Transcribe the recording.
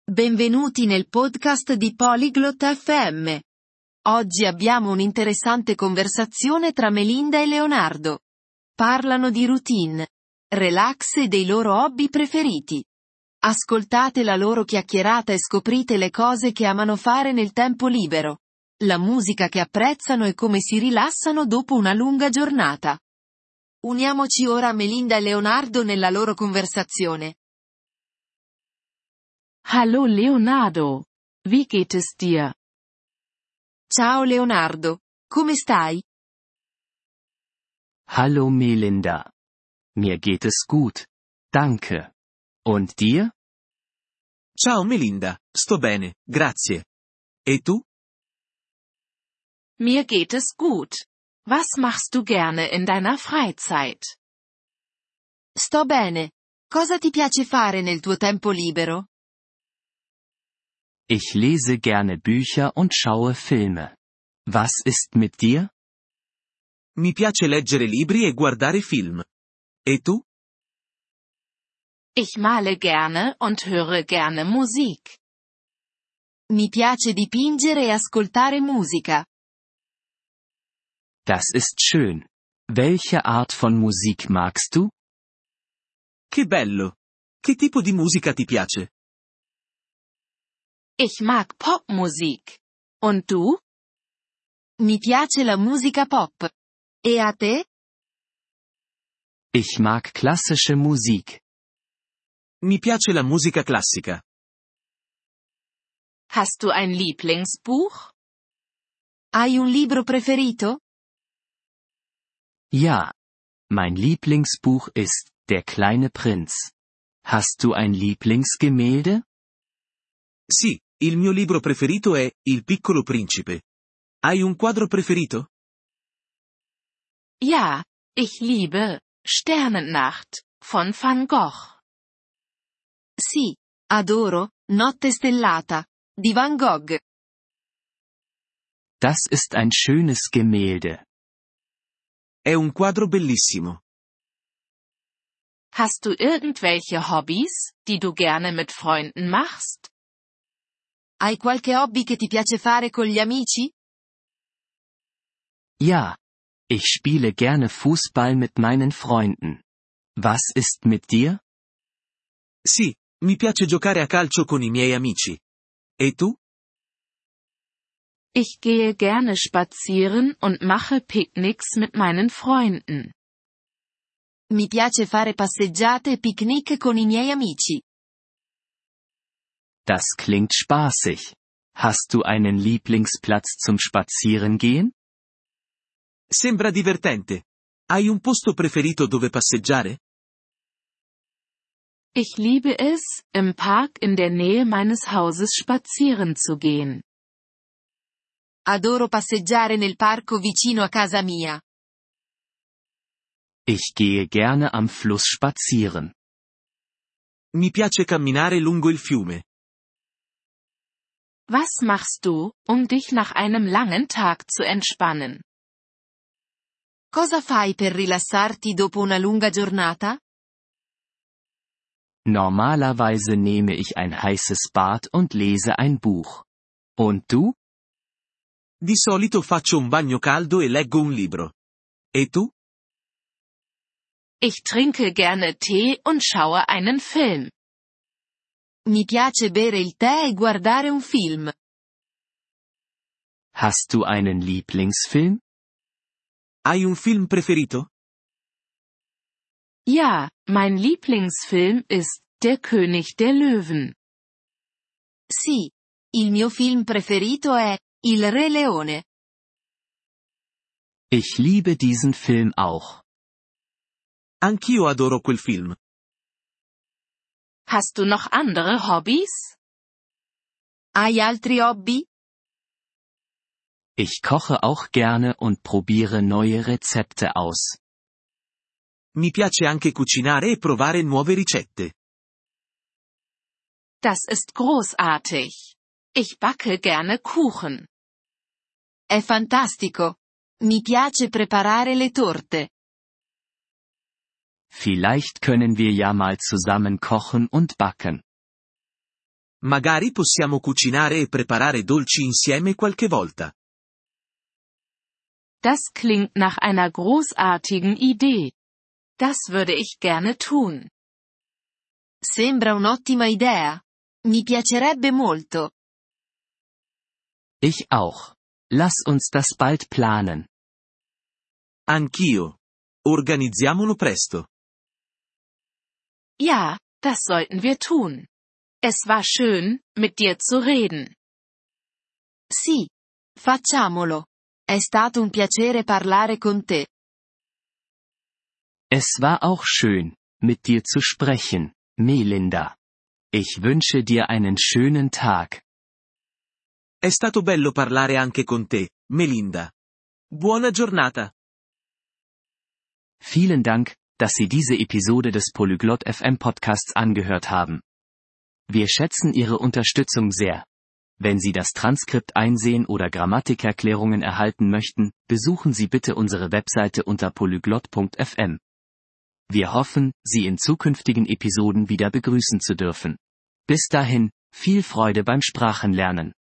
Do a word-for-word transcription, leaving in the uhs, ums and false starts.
Benvenuti nel podcast di Polyglot F M. Oggi abbiamo un'interessante conversazione tra Melinda e Leonardo. Parlano di routine, relax e dei loro hobby preferiti. Ascoltate la loro chiacchierata e scoprite le cose che amano fare nel tempo libero, la musica che apprezzano e come si rilassano dopo una lunga giornata. Uniamoci ora a Melinda e Leonardo nella loro conversazione. Hallo Leonardo. Wie geht es dir? Ciao Leonardo, come stai? Hallo Melinda. Mir geht es gut. Danke. Und dir? Ciao Melinda, sto bene, grazie. E tu? Mir geht es gut. Was machst du gerne in deiner Freizeit? Sto bene. Cosa ti piace fare nel tuo tempo libero? Ich lese gerne Bücher und schaue Filme. Was ist mit dir? Mi piace leggere libri e guardare film. E tu? Ich male gerne und höre gerne Musik. Mi piace dipingere e ascoltare musica. Das ist schön. Welche Art von Musik magst du? Che bello! Che tipo di musica ti piace? Ich mag Popmusik. Und du? Mi piace la musica pop. E a te? Ich mag klassische Musik. Mi piace la musica classica. Hast du ein Lieblingsbuch? Hai un libro preferito? Ja. Mein Lieblingsbuch ist Der kleine Prinz. Hast du ein Lieblingsgemälde? Sì, il mio libro preferito è Il piccolo principe. Hai un quadro preferito? Ja, ich liebe Sternennacht von Van Gogh. Sì, adoro Notte stellata di Van Gogh. Das ist ein schönes Gemälde. È un quadro bellissimo. Hast du irgendwelche Hobbys, die du gerne mit Freunden machst? Hai qualche hobby che ti piace fare con gli amici? Ja. Ich spiele gerne Fußball mit meinen Freunden. Was ist mit dir? Sì, mi piace giocare a calcio con i miei amici. E tu? Ich gehe gerne spazieren und mache Picknicks mit meinen Freunden. Mi piace fare passeggiate e picnic con i miei amici. Das klingt spaßig. Hast du einen Lieblingsplatz zum Spazierengehen? Sembra divertente. Hai un posto preferito dove passeggiare? Ich liebe es, im Park in der Nähe meines Hauses spazieren zu gehen. Adoro passeggiare nel parco vicino a casa mia. Ich gehe gerne am Fluss spazieren. Mi piace camminare lungo il fiume. Was machst du, um dich nach einem langen Tag zu entspannen? Cosa fai per rilassarti dopo una lunga giornata? Normalerweise nehme ich ein heißes Bad und lese ein Buch. Und du? Di solito faccio un bagno caldo e leggo un libro. E tu? Ich trinke gerne Tee und schaue einen Film. Mi piace bere il tè e guardare un film. Hast du einen Lieblingsfilm? Hai un film preferito? Ja, mein Lieblingsfilm ist Der König der Löwen. Sì, il mio film preferito è Il Re Leone. Ich liebe diesen Film auch. Anch'io adoro quel film. Hast du noch andere Hobbys? Hai altri hobby? Ich koche auch gerne und probiere neue Rezepte aus. Mi piace anche cucinare e provare nuove ricette. Das ist großartig. Ich backe gerne Kuchen. È fantastico. Mi piace preparare le torte. Vielleicht können wir ja mal zusammen kochen und backen. Magari possiamo cucinare e preparare dolci insieme qualche volta. Das klingt nach einer großartigen Idee. Das würde ich gerne tun. Sembra un'ottima idea. Mi piacerebbe molto. Ich auch. Lass uns das bald planen. Anch'io. Organizziamolo presto. Ja, das sollten wir tun. Es war schön, mit dir zu reden. Sì. Facciamolo. È stato un piacere parlare con te. Es war auch schön, mit dir zu sprechen, Melinda. Ich wünsche dir einen schönen Tag. È stato bello parlare anche con te, Melinda. Buona giornata. Vielen Dank, dass Sie diese Episode des Polyglot F M Podcasts angehört haben. Wir schätzen Ihre Unterstützung sehr. Wenn Sie das Transkript einsehen oder Grammatikerklärungen erhalten möchten, besuchen Sie bitte unsere Webseite unter polyglot punkt f m. Wir hoffen, Sie in zukünftigen Episoden wieder begrüßen zu dürfen. Bis dahin, viel Freude beim Sprachenlernen.